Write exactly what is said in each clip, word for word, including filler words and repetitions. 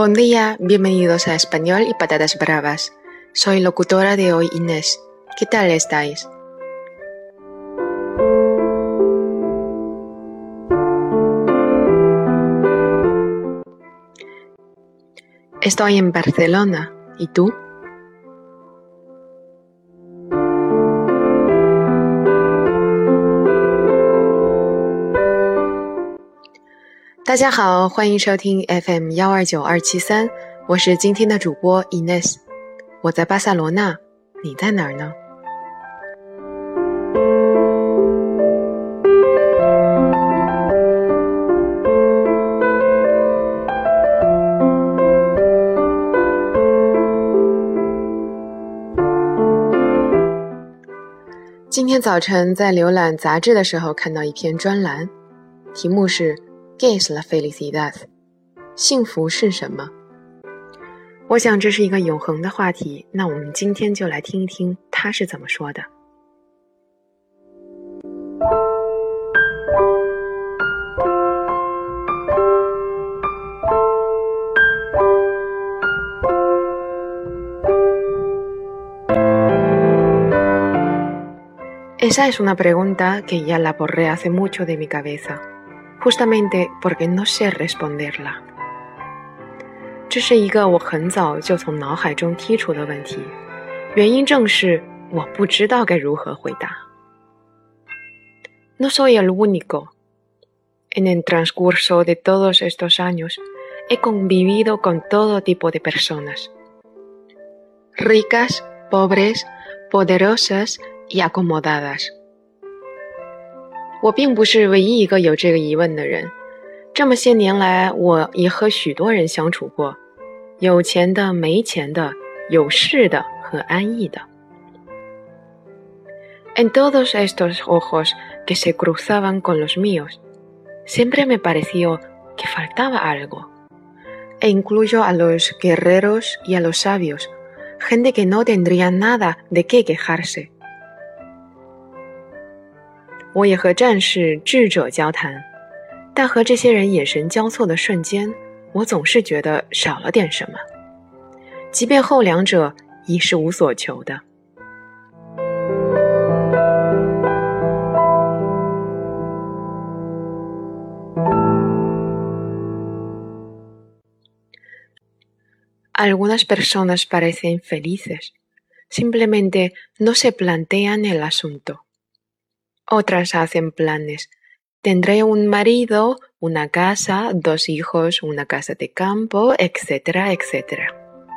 Buen día, bienvenidos a Español y Patatas Bravas. Soy locutora de hoy, Inés. ¿Qué tal estáis? Estoy en Barcelona. ¿Y tú? 大家好，欢迎收听 F M 一二九二七三，我是今天的主播 Inés。我在巴塞罗那，你在哪儿呢？今天早晨在浏览杂志的时候看到一篇专栏，题目是 ¿Qué es la felicidad? 幸福是什么？我想这是一个永恒的话题，那我们今天就来听一听他是怎么说的。Esa es una pregunta que ya la borré hace mucho de mi cabeza.Justamente porque no sé responderla. 这是一个我很早就从脑海中剔除的问题，原因正是我不知道该如何回答。No soy el único. En el transcurso de todos estos años, he convivido con todo tipo de personas. Ricas, pobres, poderosas y acomodadas.我并不是唯一一个有这个疑问的人，这么些年来，我也和许多人相处过，有钱的、没钱的，有势的和安逸的。En todos estos ojos que se cruzaban con los míos, siempre me pareció que faltaba algo, e incluyo a los guerreros y a los sabios, gente que no tendría nada de qué quejarse.我也和战士、智者交谈，但和这些人眼神交错的瞬间，我总是觉得少了点什么，即便后两者已是无所求的。Algunas personas parecen felices, simplemente no se plantean el asunto.Otras hacen planes. Tendré un marido, una casa, dos hijos, una casa de campo, etcétera, etcétera.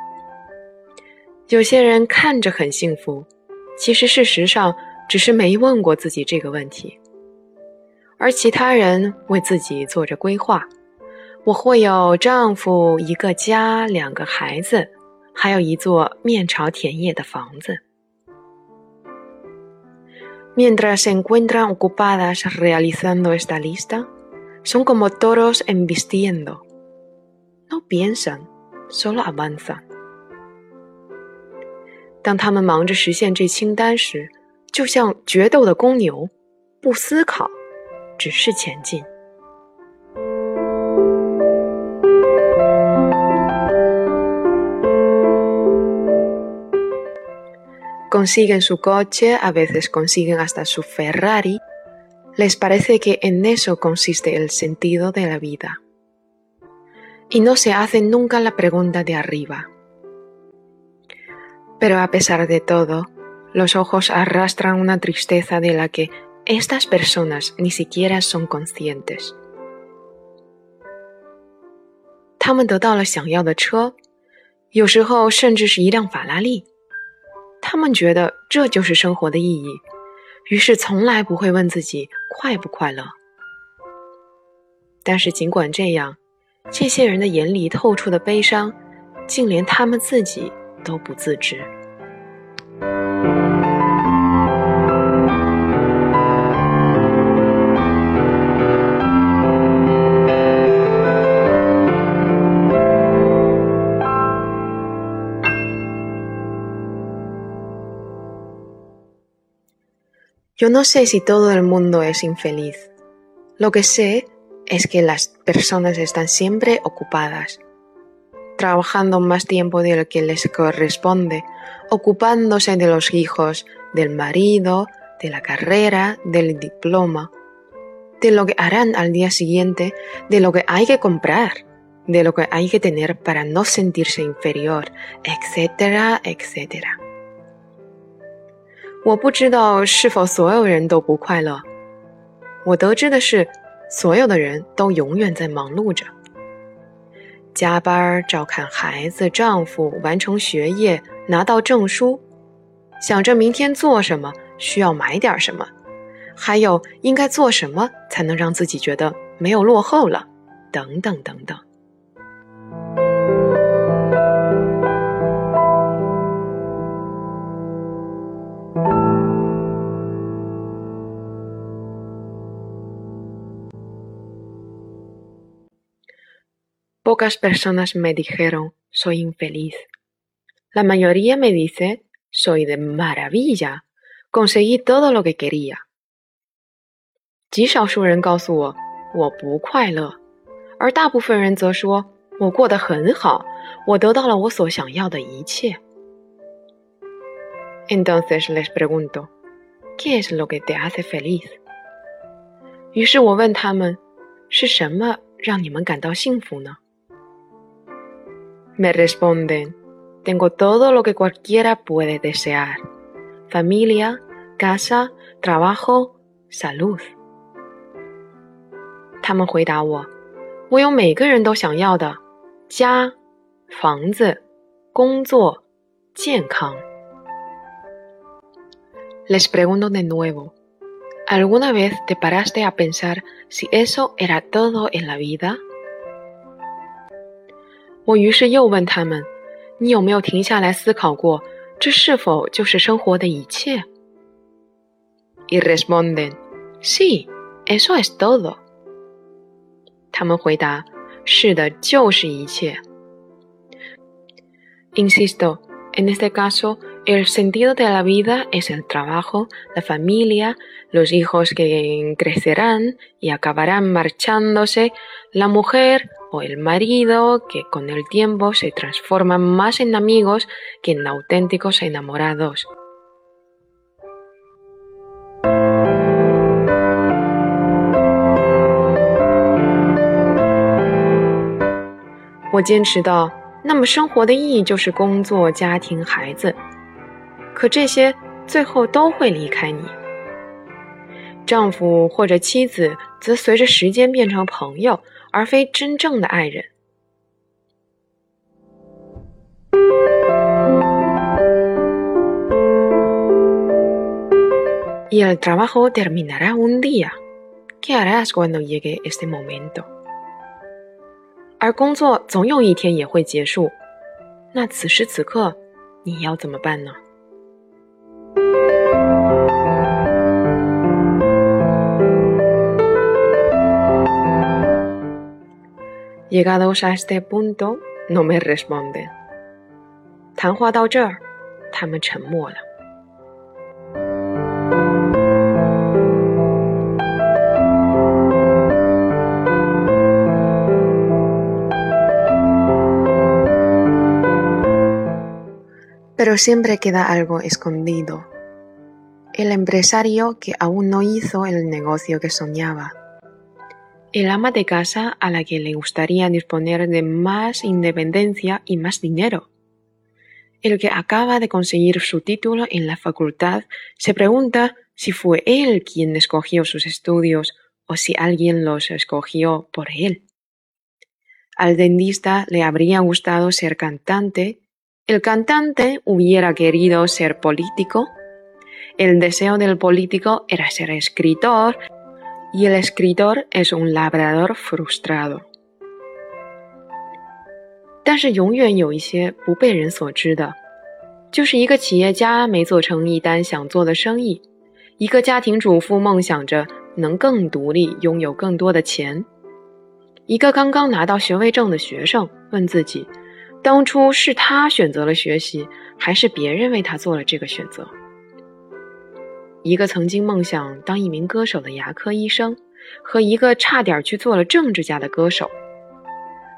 有些人看着很幸福，其实事实上只是没问过自己这个问题。而其他人为自己做着规划，我会有丈夫、一个家、两个孩子，还有一座面朝田野的房子。Mientras se encuentran ocupadas realizando esta lista, son como toros embistiendo. No piensan, solo avanzan. 当他们忙着实现这清单时，就像决斗的公牛，不思考，只是前进。Consiguen su coche, a veces consiguen hasta su Ferrari. Les parece que en eso consiste el sentido de la vida. Y no se hacen nunca la pregunta de arriba. Pero a pesar de todo, los ojos arrastran una tristeza de la que estas personas ni siquiera son conscientes. 他们得到了想要的车，有时候甚至是一辆法拉利。他们觉得这就是生活的意义，于是从来不会问自己快不快乐。但是尽管这样，这些人的眼里透出的悲伤，竟连他们自己都不自知。Yo no sé si todo el mundo es infeliz. Lo que sé es que las personas están siempre ocupadas. trabajando más tiempo del que les corresponde, ocupándose de los hijos, del marido, de la carrera, del diploma, de lo que harán al día siguiente, de lo que hay que comprar, de lo que hay que tener para no sentirse inferior, etcétera etcétera。我不知道是否所有人都不快乐，我得知的是，所有的人都永远在忙碌着，加班、照看孩子、丈夫，完成学业，拿到证书，想着明天做什么，需要买点什么，还有应该做什么才能让自己觉得没有落后了，等等等等。Pocas personas me dijeron, soy infeliz. La mayoría me dice, soy de maravilla, conseguí todo lo que quería. 极少数人告诉我，我不快乐，而大部分人则说，我过得很好，我得到了我所想要的一切。Entonces les pregunto, ¿qué es lo que te hace feliz? 于是我问他们，是什么让你们感到幸福呢？ Me responden, tengo todo lo que cualquiera puede desear. Familia, casa, trabajo, salud. 他们回答我，我有每个人都想要的家、房子、工作、健康。Les pregunto de nuevo, ¿alguna vez te paraste a pensar si eso era todo en la vida?我于是又问他们，你有没有停下来思考过，这是否就是生活的一切？ Y responden, sí, eso es todo. 他们回答，是的，就是一切。Insisto, en este caso, el sentido de la vida es el trabajo, la familia, los hijos que crecerán y acabarán marchándose, la mujer o el marido que con el tiempo se transforman más en amigos que en auténticos enamorados. 我坚持到，那么生活的意义就是工作、家庭、孩子，可这些最后都会离开你。丈夫或者妻子则随着时间变成朋友，而非真正的爱人。Y el trabajo terminará un día. ¿Qué harás cuando llegue este momento? 而工作总有一天也会结束，那此时此刻你要怎么办呢？ Llegados a este punto, no me responden. 谈话到这儿，他们沉默了。Pero siempre queda algo escondido. El empresario que aún no hizo el negocio que soñaba. El ama de casa a la que le gustaría disponer de más independencia y más dinero. El que acaba de conseguir su título en la facultad se pregunta si fue él quien escogió sus estudios o si alguien los escogió por él. Al dentista le habría gustado ser cantante. El cantante hubiera querido ser político. El deseo del político era ser escritor. Y el escritor es un labrador frustrado. 但是永远有一些不被人所知的，就是一个企业家没做成一单想做的生意，一个家庭主妇梦想着能更独立，拥有更多的钱，一个刚刚拿到学位证的学生问自己，当初是他选择了学习，还是别人为他做了这个选择？一个曾经梦想当一名歌手的牙科医生，和一个差点去做了政治家的歌手，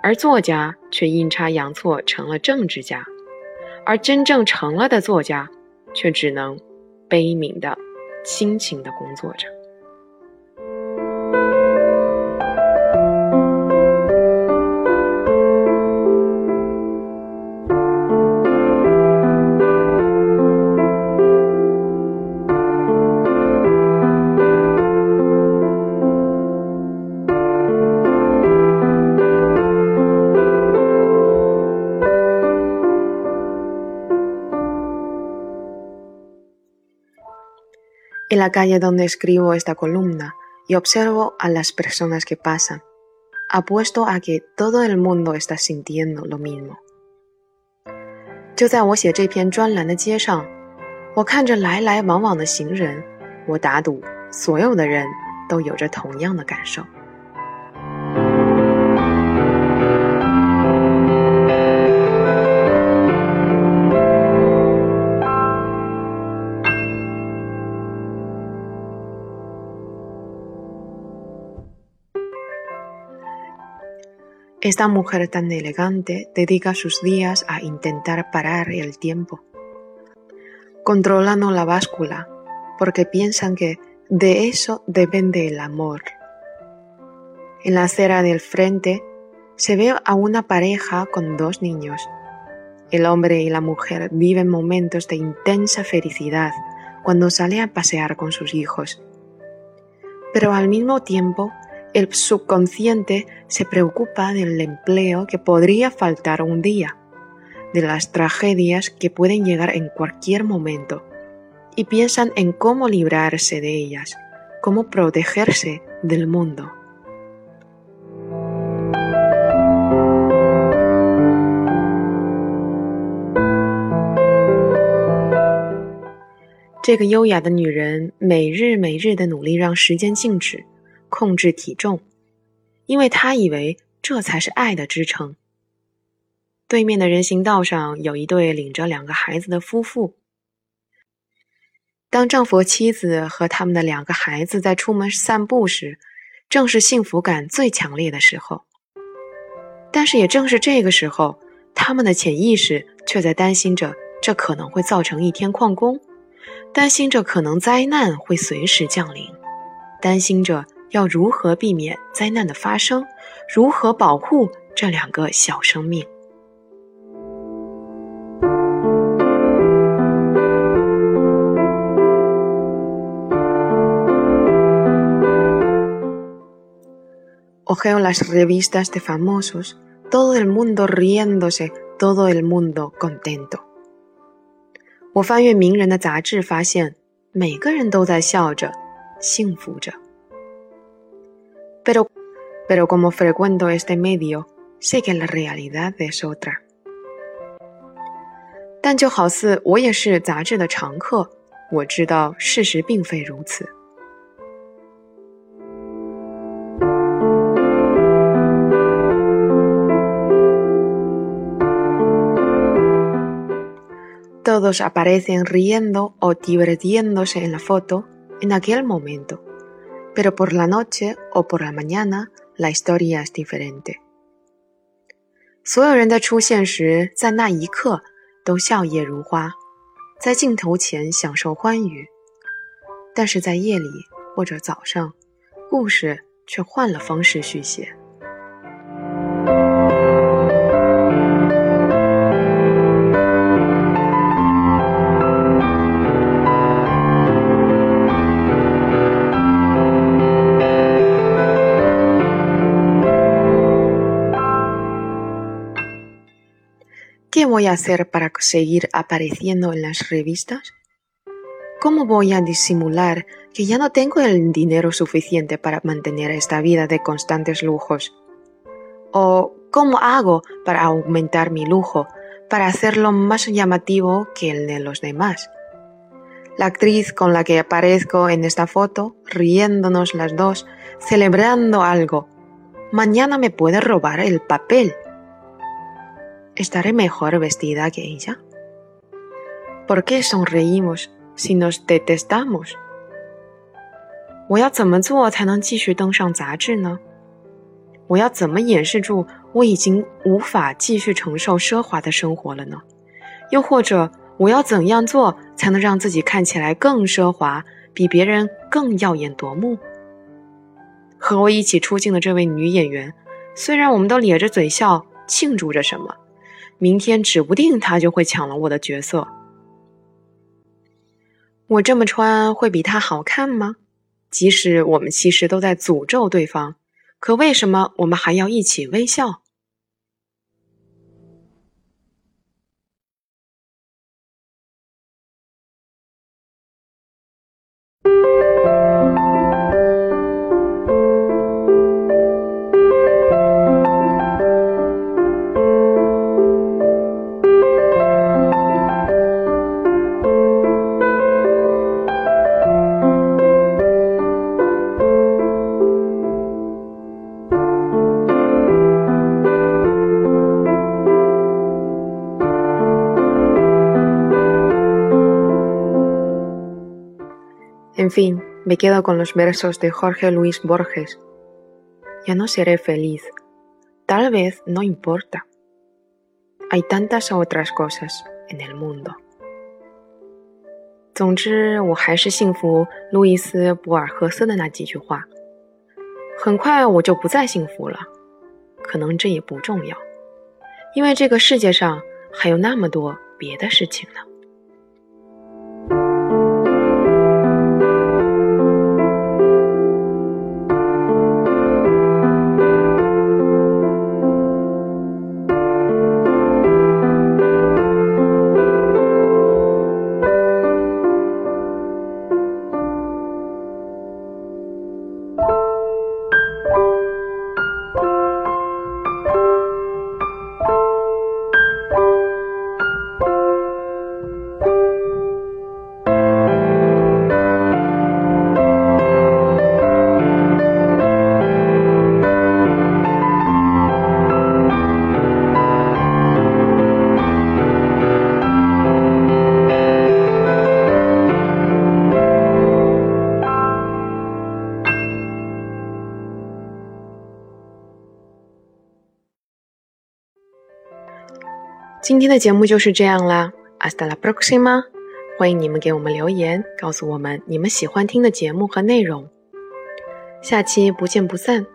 而作家却阴差阳错成了政治家，而真正成了的作家却只能悲悯的、辛勤的工作着。En la calle donde escribo esta columna y observo a las personas que pasan, apuesto a que todo el mundo está sintiendo lo mismo. 就在我写这篇专栏的街上，我看着来来往往的行人，我打赌所有的人都有着同样的感受。Esta mujer tan elegante dedica sus días a intentar parar el tiempo, controlando la báscula, porque piensan que de eso depende el amor. En la acera del frente se ve a una pareja con dos niños. El hombre y la mujer viven momentos de intensa felicidad cuando sale a pasear con sus hijos. Pero al mismo tiempo, el subconsciente se preocupa del empleo que podría faltar un día, de las tragedias que pueden llegar en cualquier momento, y piensan en cómo librarse de ellas, cómo protegerse del mundo. Esta 这个优雅的女人每日每日地努力让时间静止，控制体重，因为她以为这才是爱的支撑。对面的人行道上有一对领着两个孩子的夫妇。当丈夫和妻子和他们的两个孩子在出门散步时，正是幸福感最强烈的时候。但是也正是这个时候，他们的潜意识却在担心着这可能会造成一天旷工，担心着可能灾难会随时降临，担心着要如何避免灾难的发生，如何保护这两个小生命。Ojeo las revistas de famosos, todo el mundo riéndose, todo el mundo contento. 我翻阅名人的杂志，发现每个人都在笑着，幸福着。Pero, pero como frecuento este medio, sé que la realidad es otra. 但就好似我也是杂志的常客，我知道事实并非如此。Todos aparecen riendo o divirtiéndose en la foto en aquel momento, pero por la noche o por la mañana la historia es diferente. 所有人的出现时，在那一刻都笑靥如花，在镜头前享受欢愉，但是在夜里或者早上，故事却换了方式续写。¿Qué voy a hacer para seguir apareciendo en las revistas? ¿Cómo voy a disimular que ya no tengo el dinero suficiente para mantener esta vida de constantes lujos? ¿O cómo hago para aumentar mi lujo, para hacerlo más llamativo que el de los demás? La actriz con la que aparezco en esta foto, riéndonos las dos, celebrando algo, mañana me puede robar el papel. ¿Estaré mejor vestida que ella? ¿Por qué sonreímos si nos detestamos? 我要怎么做才能继续登上杂志呢？ 我要怎么掩饰住我已经无法继续承受奢华的生活了呢？又或者我要怎样做才能让自己看起来更奢华，比别人更耀眼夺目？和我一起出镜的这位女演员，虽然我们都咧着嘴笑庆祝着什么，明天指不定她就会抢了我的角色。我这么穿会比她好看吗？即使我们其实都在诅咒对方，可为什么我们还要一起微笑？En fin, me quedo con los versos de Jorge Luis Borges. Ya no seré feliz. Tal vez no importa. Hay tantas otras cosas en el mundo. 总之，我还是信服路易斯·博尔赫斯的那几句话。很快我就不再幸福了，可能这也不重要，因为这个世界上还有那么多别的事情呢。今天的节目就是这样啦 ，Hasta la próxima！ 欢迎你们给我们留言，告诉我们你们喜欢听的节目和内容。下期不见不散。